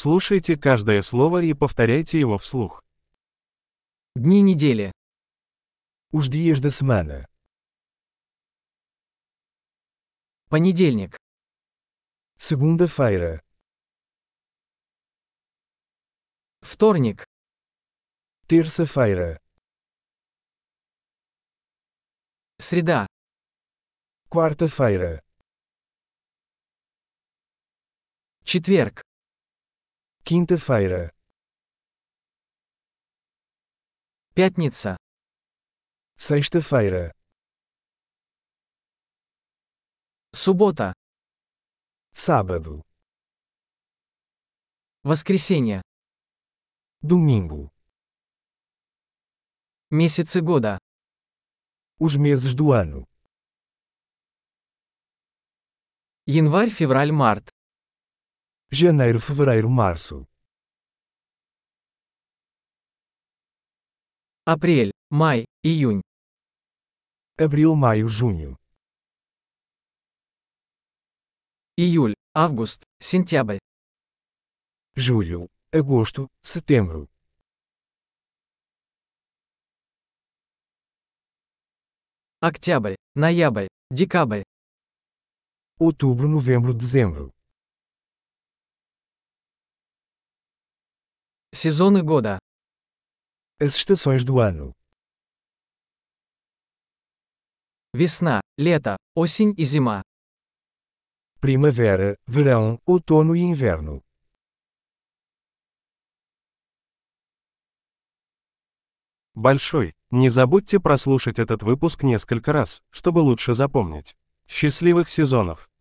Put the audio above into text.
Слушайте каждое слово и повторяйте его вслух. Дни недели. Os dias da semana. Понедельник. Segunda-feira. Вторник. Terça-feira. Среда. Quarta-feira. Четверг. Quinta-feira. Пятница. Sexta-feira. Суббота. Sábado. Воскресенье. Domingo. Месяцы года. Os meses do ano. Январь, февраль, март. Janeiro, fevereiro, março. Апрель, май, июнь. Abril, maio, junho. Июль, август, сентябрь. Julho, agosto, setembro. Октябрь, ноябрь, декабрь. Outubro, novembro, dezembro. Сезоны года. As estações do ano. Весна, лето, осень и зима. Primavera, verão, outono e inverno. Большой. Не забудьте прослушать этот выпуск несколько раз, чтобы лучше запомнить. Счастливых сезонов!